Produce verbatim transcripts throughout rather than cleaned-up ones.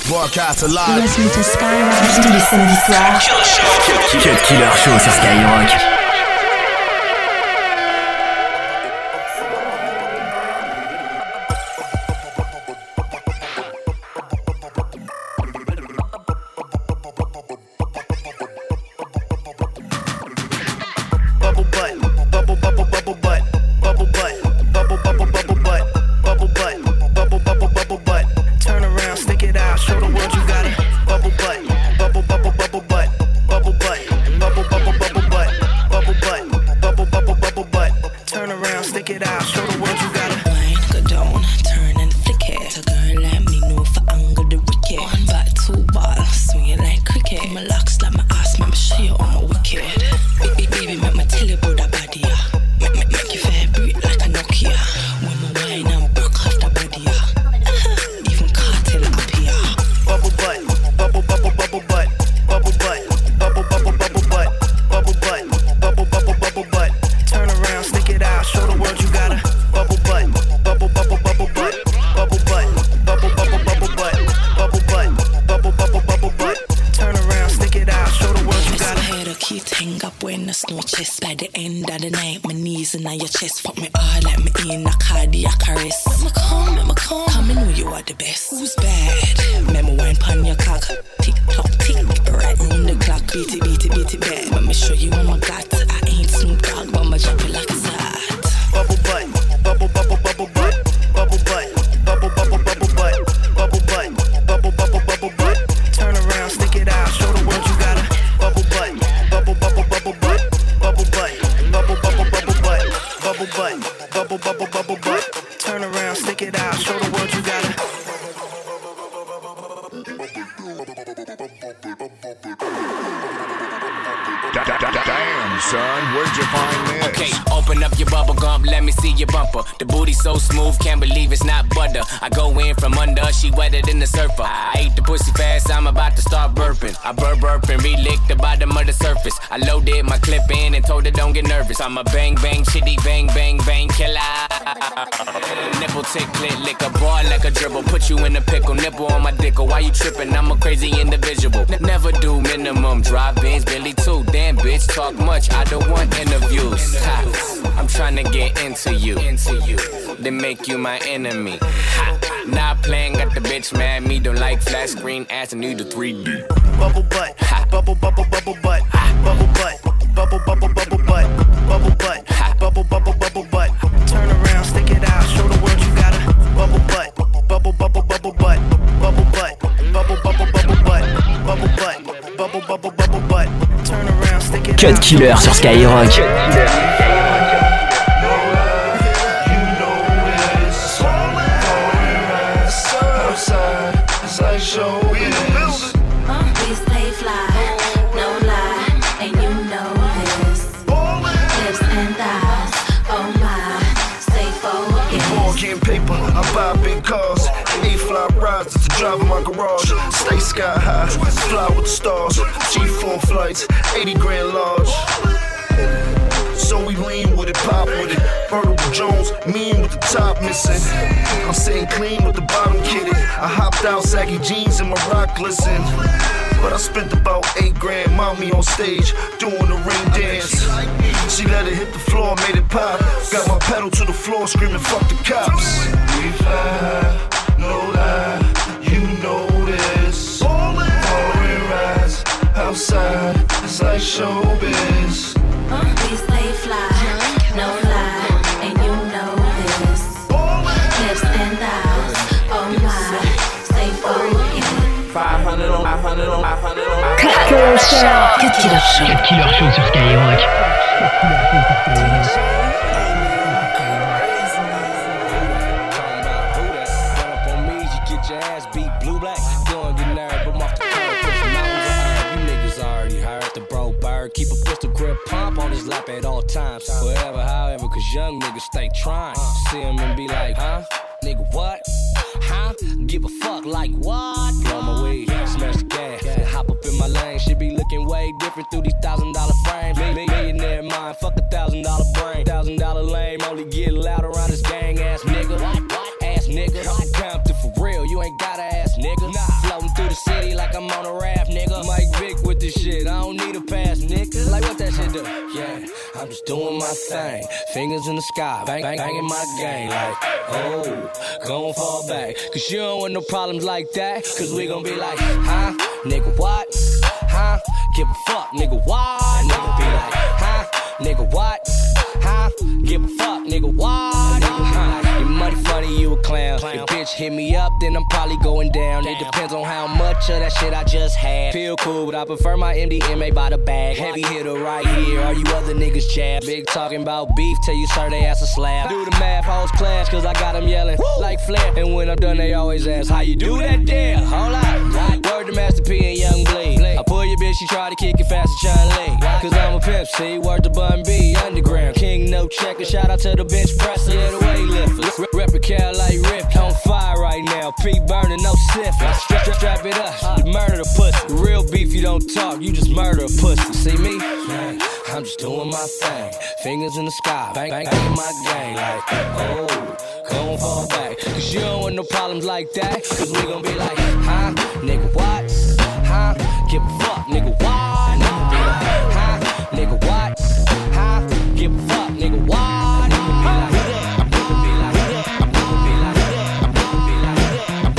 Broadcast alive. You're listening to Skyrock. Tous les samedis soirs. Cut Killer Show sur Skyrock. Damn, son, where'd you find this? Okay, open up your bubble gum, let me see your bumper. The booty so smooth, can't believe it's not butter. I go in from under, she wetter than the surfer. I ate the pussy fast, I'm about to start burping. I burp burp and re-lick the bottom of the surface. I loaded my clip in and told her don't get nervous. I'm a bang bang chitty bang bang bang killer. Nipple tick click lick a bar like a dribble. Put you in a pickle, nipple on my dickle. Why you tripping? I'm a crazy individual. N- never do minimum, drive Benz, Billy too. Damn bitch, talk much, I don't want interviews. Ha. I'm trying to get into you, into you, then make you my enemy. Ha. Not playing, got the bitch mad. Me don't like flat screen ass and need the three D. Bubble butt, ha. Bubble bubble bubble butt, ha. Bubble butt, bubble bubble bubble butt, bubble butt, ha. Bubble bubble bubble butt. Turn around, stick it out, show the world you got a bubble butt, bubble bubble bubble butt, bubble butt, bubble bubble bubble butt, bubble butt, bubble bubble bubble butt. Turn around, stick it out. Cut Killer sur Skyrock. Show we in the building. Uh, we stay fly, no lie, and you know this. Hips and thighs, oh my, stay focused. Ball game paper, I buy big cars. A-fly rides, it's the drive in my garage. Stay sky high, fly with the stars. G four flights, eighty grand large. So we lean with it, pop with it. Vertical Jones, mean with the top missing. I'm sitting clean with the bottom kitted. I hopped out, saggy jeans and my rock glisten. But I spent about eight grand, mommy on stage, doing the ring dance. She let it hit the floor, made it pop. Got my pedal to the floor, screaming, fuck the cops. We fly, no lie, you know this. Foreign rides, outside, it's like showbiz. Uh, we stay fly, no lie, and you know this. Hips and thighs, oh my, stay focused. five hundred on five hundred on five hundred on Cut Killer Show. Cut Killer Show. Cut Killer Show sur Skyrock. Keep a pistol grip pump on his lap at all times. Forever, however, cause young niggas stay trying. See him and be like, huh? Nigga, what? Huh? Give a fuck like what? Blow my weed, smash the gas, and hop up in my lane. Shit be looking way different through these thousand dollar frames. Millionaire mind, fuck a thousand dollar brain. Thousand dollar lame, only get loud around this gang ass nigga. Ass nigga, come through for real, you ain't gotta ass nigga. Floating through just doing my thing. Fingers in the sky, bang, bang, banging my game. Like, oh, gon' fall back. Cause you don't want no problems like that. Cause we gon' be like, huh? Nigga, what? Huh? Give a fuck, nigga, what? Nigga be like, huh? Nigga, what? Huh? Give a fuck, nigga, what? Nigga, huh? Your money funny, you a clown. If bitch hit me up, then I'm probably going down. It depends on how much of that shit I just had. Feel cool, but I prefer my M D M A by the bag. Heavy hitter right here, all you other niggas jabs. Big talking about beef, tell you sir they ass a slab. Do the math, hoes class, cause I got them yelling like Flair. And when I'm done, they always ask, how you do that there? Hold up, word to Master P and Young Bleed. I pull your bitch, she try to kick it fast as Chun Li. Cause I'm a pimp, see, word to Bun B, underground. King, no checker, shout out to the bench presser, yeah, the weightlifters. Rep a Cal like Rip, on fire right now. P burning, no syphilis. Strap, strap, strap it up, you murder the pussy. Real beef, you don't talk, you just murder a pussy. See me? I'm just doing my thing. Fingers in the sky, bang, bang, bang my game. Like, oh, gon' fall back. Cause you don't want no problems like that. Cause we gon' be like, huh? Nigga, what? Huh? Give a fuck, nigga, what? Nigga be like, huh? Nigga, what? Huh? Give a fuck, nigga, what? Nigga be like, nigga be like, nigga be like, nigga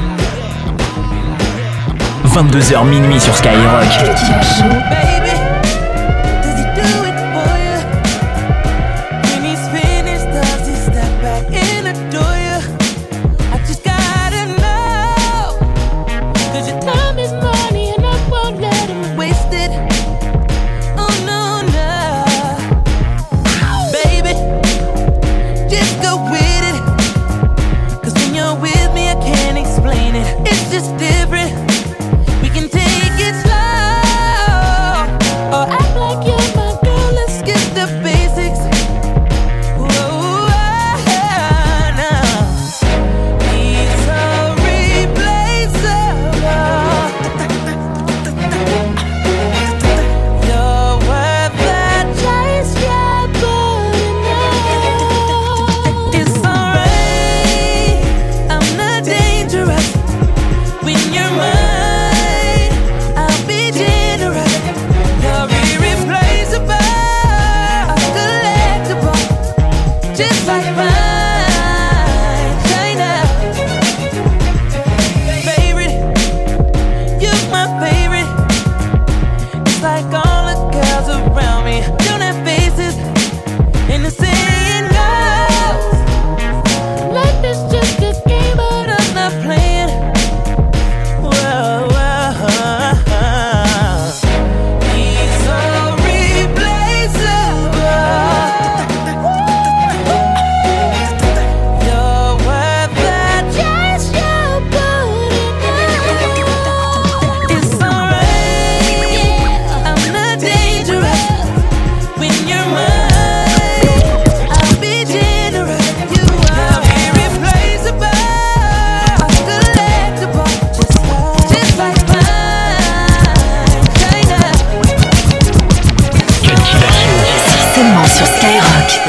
be like, vingt-deux heures minuit sur Skyrock. Baby, does he do it for you? When he's finished, does he step back and adore you? I just gotta know, cause your time is money and I won't let him waste it. Oh no, no. Baby, just go with it. Cause when you're with me I can't explain it. It's just different. We can take it slow, or act like you're my girl. Let's skip the basics. Whoa, now he's irreplaceable. You're worth the chase, yeah, but enough. It's alright, I'm not dangerous. When you're mine, I'll be generous. You're irreplaceable, collectible, just like mine. China, favorite, you're my favorite. It's like all the girls around me don't have faces, and the saying goes, life is just a game, but I'm not playing. Whoa, whoa, he's so replaceable. You're worth the chase, you're good enough. It's alright, I'm not dangerous. When you're mine, I'll be generous. You are irreplaceable, collectible, just like mine. China. Seulement sur Skyrock.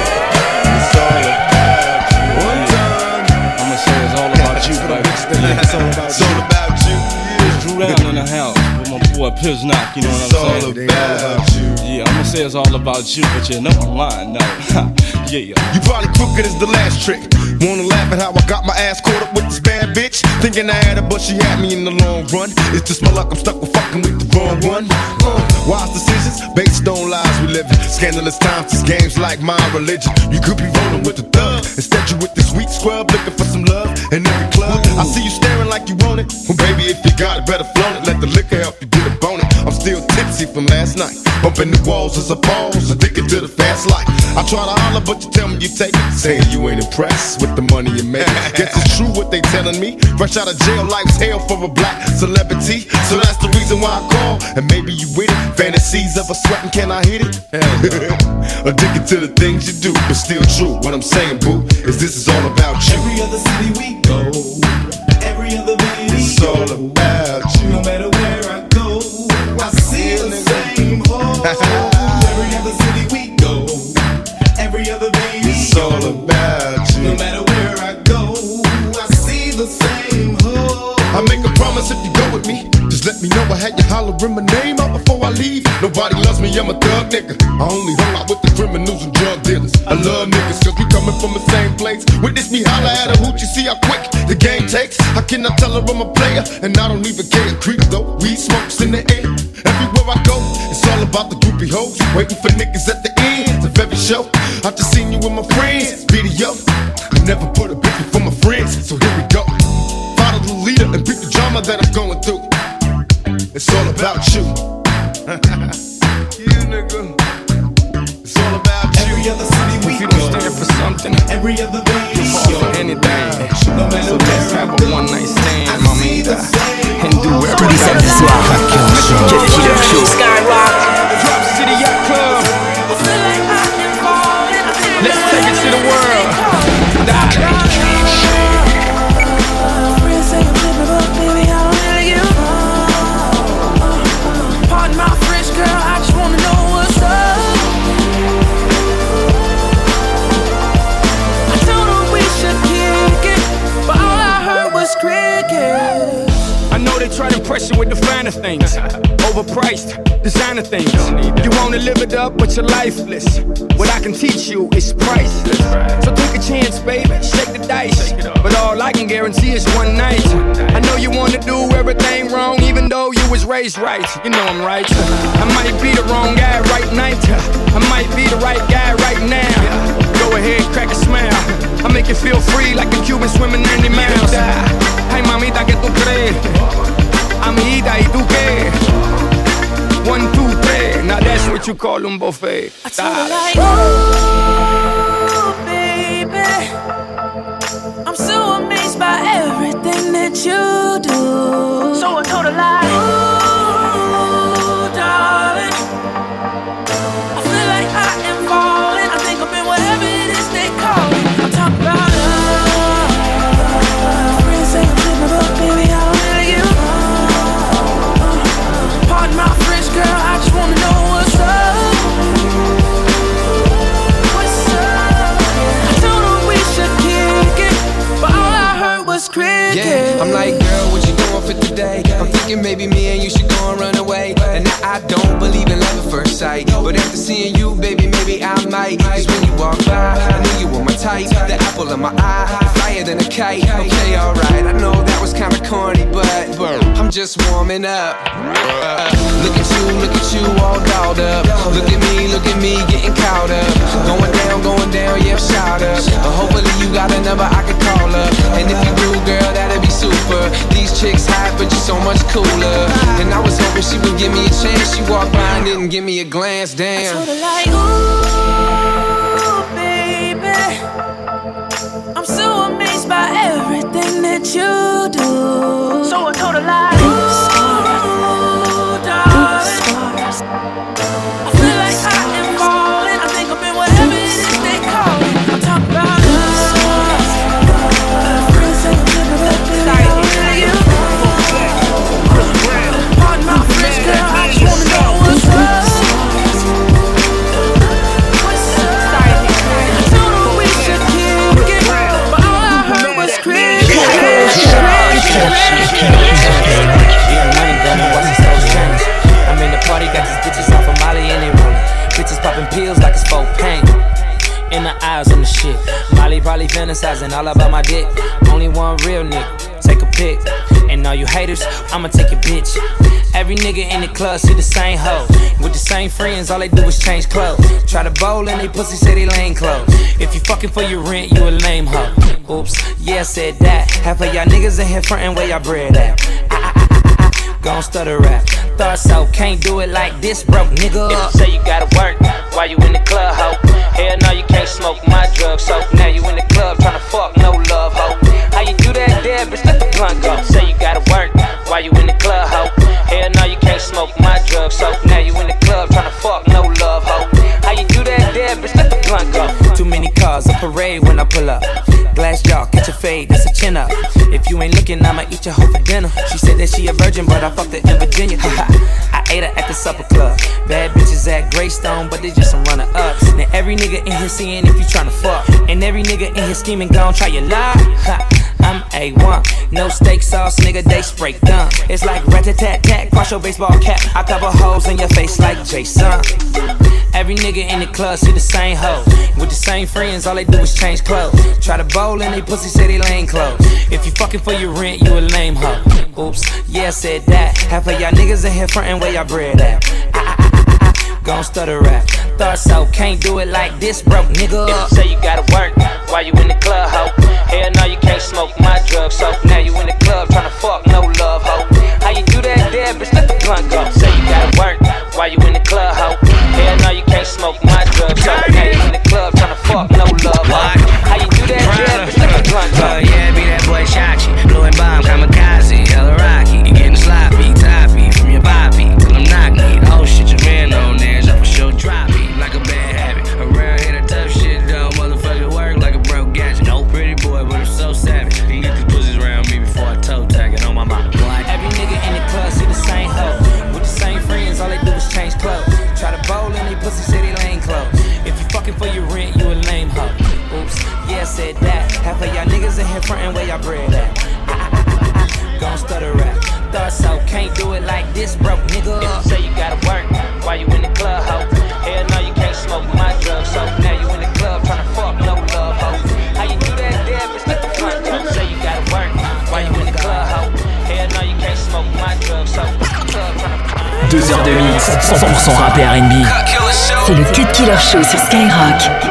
I'ma say it's all about you, baby. It's all about you. Drew down in the house with my boy Piznock, you know what It's I'm all saying? about you. Yeah, I'ma say it's all about you, but you know I'm lying now. Yeah. You probably crooked as the last trick. Wanna laugh at how I got my ass caught up with this bad bitch? Thinking I had her, but she had me in the long run. It's just my luck, I'm stuck with fucking with the wrong one. Uh, wise decisions based on lies we live in. Scandalous times, this game's like my religion. You could be rolling with the thug. Instead you with the sweet scrub, looking for some love in every club. I see you staring like you want it. Well baby, if you got it, better flown it. Let the liquor help you get a bone it. I'm still tipsy from last night. Bumping the walls as a pause, addicted to the fast life. I try to holler, but you tell me you take it. Saying you ain't impressed with the money you make. Guess it's true what they telling me. Fresh out of jail, life's hell for a black celebrity. So that's the reason why I call. And maybe you with it. Fantasies of a sweating, can I hit it? Addicted to the things you do, but still true. What I'm saying, boo, is this is all about you. Every other city we go, every other baby, it's all about you. No matter where I go, I see the same hole. Every other city we go, every other baby, it's all about you. No matter where I go, I see the same hole. I make a promise if you go with me, just let me me know I had you hollering my name out before I leave. Nobody loves me, I'm a thug nigga. I only hung out with the criminals and drug dealers. I love niggas cause we coming from the same place. Witness me holler at a hoot, you see how quick the game takes. How can I tell her I'm a player? And I don't even care. Creep though, weed smokes in the air. Everywhere I go, it's all about the groupie hoes. Waiting for niggas at the end of every show. I just seen you with my friends, video. I never put a bitch before my friends, so here we go. Follow the leader and beat the drama that I'm going through. It's all about you. You nigga. It's all about you. Every other city we If you go, don't stand for something, every other day we fall show. for anything. No matter So let's where have I a go, one night stand, I mommy, see the same. and do Tous everything. les samedis soirs, Cut Killer Show. Skyrock, Drop City Yacht Club. Let's take it to the world. Die. Pardon my French girl, I just wanna know what's up. I told her we should kick it, but all I heard was crickets. I know they try to impress you with the finer things, overpriced, designer things. You wanna live it up, but you're lifeless. What I can teach you is priceless. So take a chance, baby, shake the dice. But all I can guarantee is one night. I know you wanna do everything wrong, even though you was raised right. You know I'm right. I might be the wrong guy right night. I might be the right guy right now. Go ahead, crack a smile. I make you feel free like a Cuban swimming ninety miles. Hey, mamita, ¿qué tú crees? Amiguita, ¿y tú qué? One, two, three. Now that's what you call un buffet. I told her like, ooh, baby, I'm so amazed by everything that you do. So I told her like, ooh, darling, I feel like I am falling. I think I'm in whatever it is they call it. I'm talking about love. Friends say I'm tripping, but baby, I don't really give a fuck. Pardon my French girl, I just wanna know what's up. What's up? I told her we should kick it, but all I heard was cricket. Yeah, I'm like, girl, what you doing for today? I'm thinking maybe me and you should go and run away. And now I don't believe in love at first sight, but after seeing you, baby, maybe I might. Cause when you walk by, I knew you were my type. The apple of my eye, flyer than a kite. Okay, alright, I know that was kinda corny, but, but I'm just warming up. uh, Look at you, look at you, all dolled up. Look at me, look at me, getting caught up. Going down, going down, yeah, shout up. uh, Hopefully you got a number I can call up. And if you do, girl, that'd be super. These chicks hot, but you're so much cooler. And I was hoping she would give me a chance. She walked by and didn't give me a glance, damn. I told her like, ooh, baby, I'm so amazed by everything that you do. So I told her like, ooh, darling, I feel like I am falling. I think I'm in whatever it is they call it. I'm talking about love. Friends say I'm tripping, but baby, I don't really give a fuck. Pardon my French girl, I just wanna know what's up. What's up? I told her we should kick it, but all I heard was cricket. Yeah, money gonna watch the stores change. I'm in the party, got these bitches off of Molly in their room. Bitches popping pills like it's folk pain. In the eyes on the shit. Molly probably fantasizing all about my dick. Only one real nigga, take a pic. And all you haters, I'ma take your bitch. Every nigga in the club see the same hoe. With the same friends, all they do is change clothes. Try to bowl and they pussy say they lame clothes. If you fucking for your rent, you a lame hoe. Oops, yeah, I said that. Half of y'all niggas in here frontin' where y'all bread at. I, I, I, I, I, gon' stutter rap. Thought so, can't do it like this, broke nigga. If you say you gotta work while you in the club, ho. Hell no, you can't smoke my drug, so now you in the club tryna fuck, no love, ho. How you do that there, bitch, let the blunt go. Say you gotta work while you in the club, ho. Hell no, you can't smoke my drug, so now you in the club tryna fuck, no love, ho. How you do that there, bitch, let the blunt go. Too many cars, a parade when I pull up. Glass jaw, catch a fade, that's a chin up. If you ain't looking, I'ma eat your hoe for dinner. She said that she a virgin, but I fucked her in Virginia. I ate her at the supper club. Bad bitches at Greystone, but they just some runner-ups. Now every nigga in here seeing if you tryna fuck, and every nigga in here scheming gon' try your lie. I'm A one. No steak sauce, nigga, they spray dumb. It's like rat-a-tat-tat, cross your baseball cap. I cover holes in your face like Jason. Every nigga in the club see the same hoe. With the same friends, all they do is change clothes. Try to bowl and they pussy say they lane clothes. If you fucking for your rent, you a lame hoe. Oops, yeah, I said that. Half of y'all niggas in here frontin' where y'all bread at. I, I, I, I, gon' stutter rap. Thought so, can't do it like this, broke nigga. If you say you gotta work while you in the club, ho. Hell no, you can't smoke my drugs, so now you in the club tryna fuck, no love, ho. How you do that there, bitch, let the blunt go. Say you gotta work while you in the club, ho. Hell no, you can't smoke my drugs, so now you in the club tryna fuck, no love, ho. How you do that there, bitch, let the blunt go. Uh, yeah, be that boy Shachi, blowing bomb, kamikaze, hella rocky. You getting sloppy, toppy, from your bobby, till I'm knock me. Oh shit, your man on there, so for sure drop me. Like a bad habit, around here the tough shit don't motherfucker work like a broke gadget. No pretty boy, but I'm so savage. He get these pussies around me before I toe tag it on my mouth. Every nigga in the club see the same hoe. With the same friends, all they do is change clothes. Try to bowl and they pussy say they lane clothes. If you fucking for your rent, you a lame hoe. Oops, yeah, I said that. Half of y'all niggas in here frontin' where y'all bread at. I, I, I, I, gon' stutter rap. Thought so, can't do it like this, broke nigga. If you say you gotta work while you in the club, ho. Hell no, you can't smoke my drugs, so now you in the club tryna fuck, no love, ho. How you do that there, bitch, let the blunt go. Say you gotta work while you in the club, ho. Hell no, you can't smoke my drugs, so club tryna. Deux heures de mix, cent pour cent rap et R and B. C'est le Cut Killer Show sur Skyrock.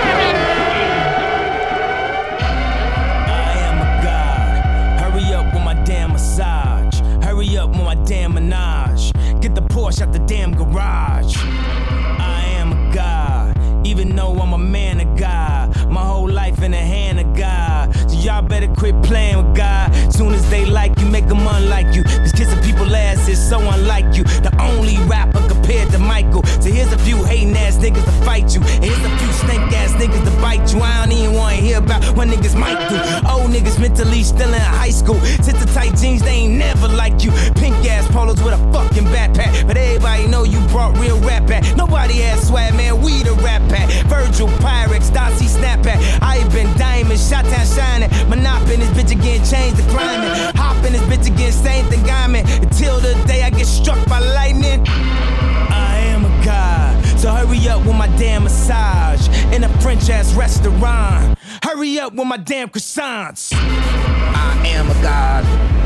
Out the damn garage. I am a god, even though I'm a man of God. My whole life in the hand of God. So y'all better quit playing with God. Soon as they like you, make them unlike you. Cause kissing people ass is so unlike you. The only rapper compared to Michael. So here's a few hating ass niggas to fight you. And here's a few snake ass niggas to bite you. I don't even wanna hear about what niggas might do. Old niggas mentally still in high school. Since the tight jeans, they ain't never like you. Pink ass polos with a fucking backpack. But everybody know you brought real rap back. Nobody has swag, man, we the rap pack. Virgil, Pyrex, Darcy, Snapback. I been diamond, shot town shining. Monop in this bitch again, change the climate. Hop in this bitch again, same thing I'm in. Until the day I get struck by lightning. I am a god, so hurry up with my damn massage. In a French ass restaurant. Hurry up with my damn croissants. I am a god.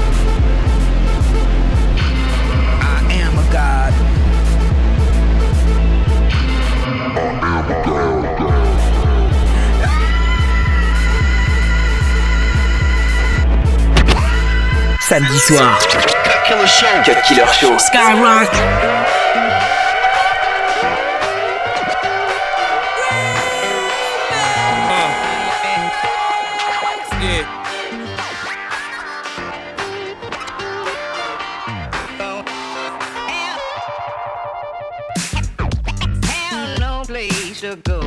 I am a god. I am a god. Samedi soir. Cut Killer Show. Cut Killer Show. Skyrock. To go.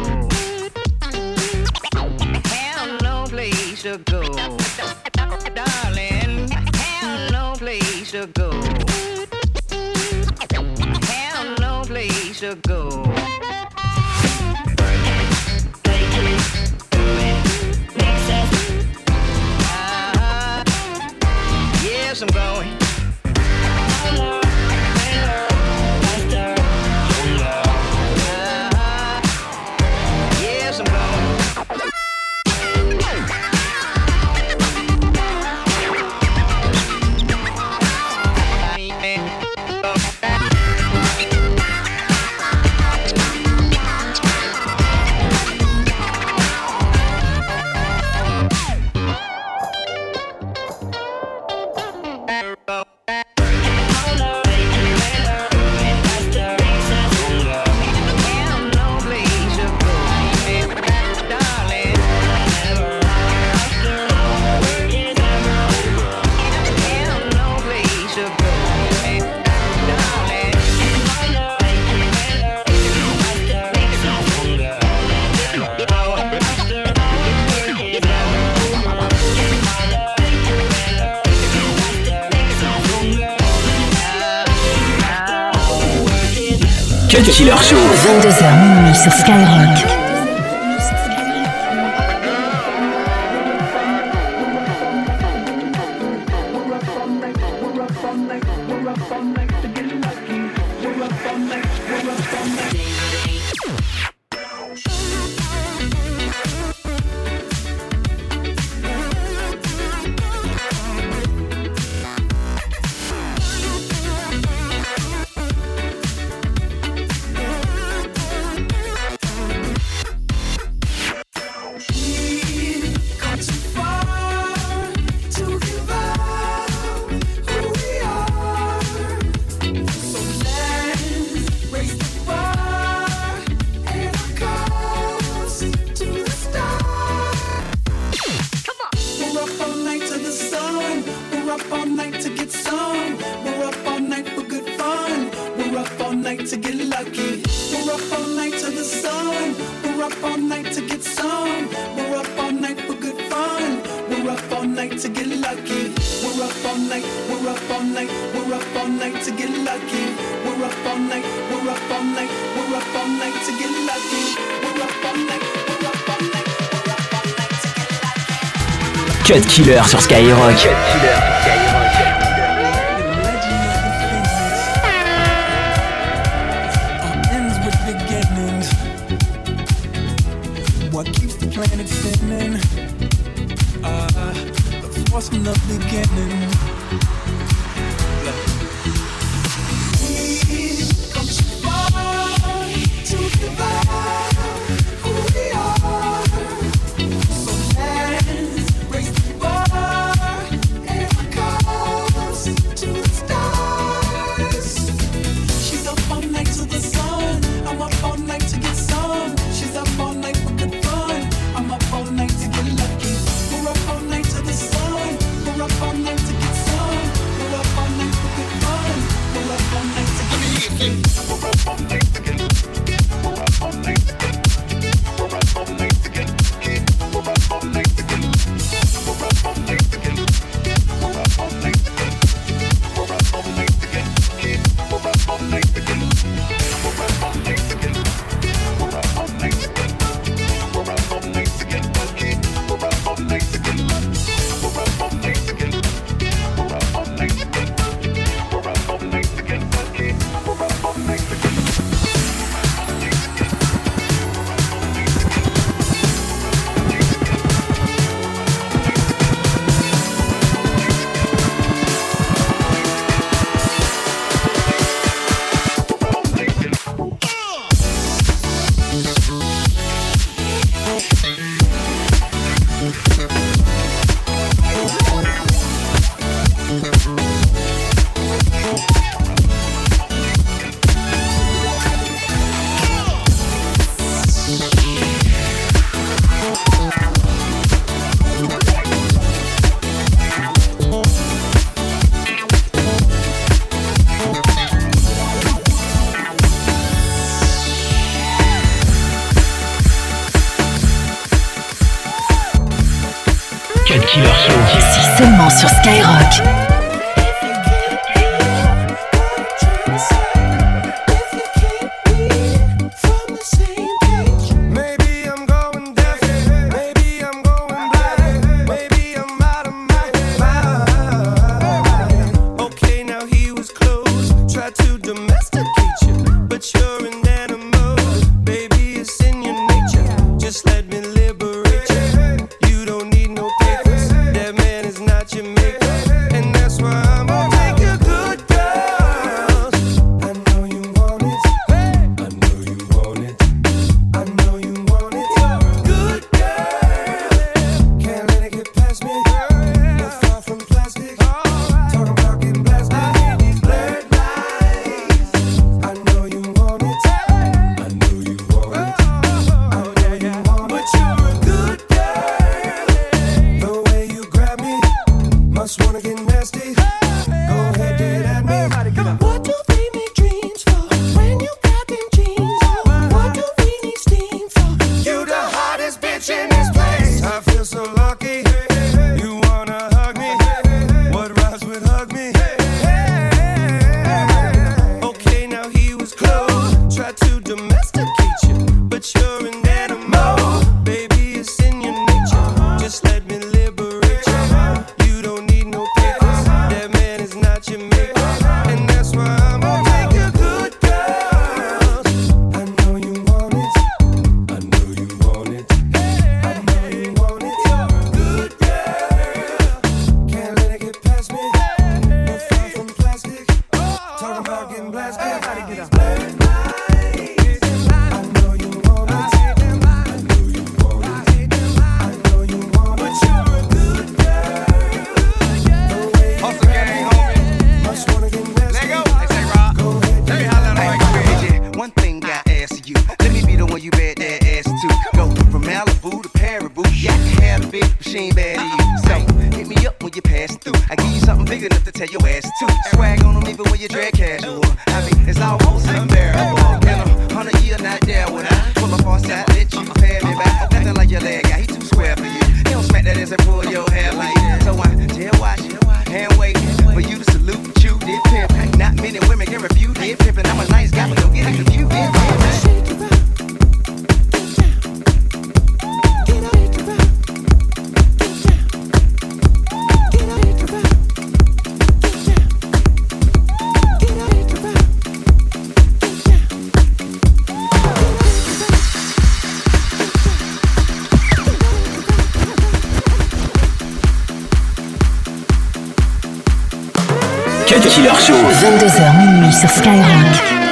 Have no place to go. Darling, have no place to go. Have no place to go. Uh-huh. Yes, I'm going. Cut Killer Show. vingt-deux heures minuit sur Skyrock. all night, we're up all night to get lucky. We're up all night, we're up all night. To get lucky, we're up all night to the sun. We're up all night to get some. We're up all night for good fun. We're up all night to get lucky. We're up all night. We're up all night. We're up all night to get lucky. We're up all night. We're up all night. We're up all night to get lucky. We're up all night. We're up all night. We're up all night to get lucky. Cut Killer sur Skyrock. Cut Killer sur Skyrock. What keeps the planet spinning? Uh, the force from the beginning. We've come too far to give up who we are. So let's raise the bar and our cause to the stars. She's up all night to the sun. I'm up all night to get some. She's up all night for good fun. I'm up all night to get lucky. We're up all night to the sun. We're up all night to get some. We're up all night for good fun. We're up all night to get lucky. We're up all night to get lucky. We're up all night to get lucky. We're up all night to get lucky. We're up all night to get lucky. We're up all night to get lucky. We're up all night to get lucky. We're up all night to get lucky. We're up all night to get lucky. We're up all night to get lucky. We're up all night to get lucky. We're up all night to get lucky. We're up all night to get lucky. We're up all night to get lucky. We're up all night to get lucky. We're up all night to get lucky. We're up all night to get lucky. Cut Killer Show. C'est seulement sur Skyrock. And in me. And that's why I'm gonna take you good girls. I know you want it. I know you want it. I know you want it. You're a good girl. Can't let it get past me. You're far from plastic. Talking about getting blasted. Everybody get up. She ain't bad to you, so hit me up when you pass through. I give you something big enough to tell your ass to. Swag on them even when you drag casual. I mean, it's almost unbearable. In a hundred year, not there when I pull up on side, let you pay me back. Nothing like your leg guy, he too square for you. He don't smack that ass and pull your hair like that. So I tell watch, hand wait for you to salute what you did, pimp. Not many women can refute it, pimpin'. I'm a nice guy, but don't get it confused. Cut Killer Show. vingt-deux heures minuit sur Skyrock.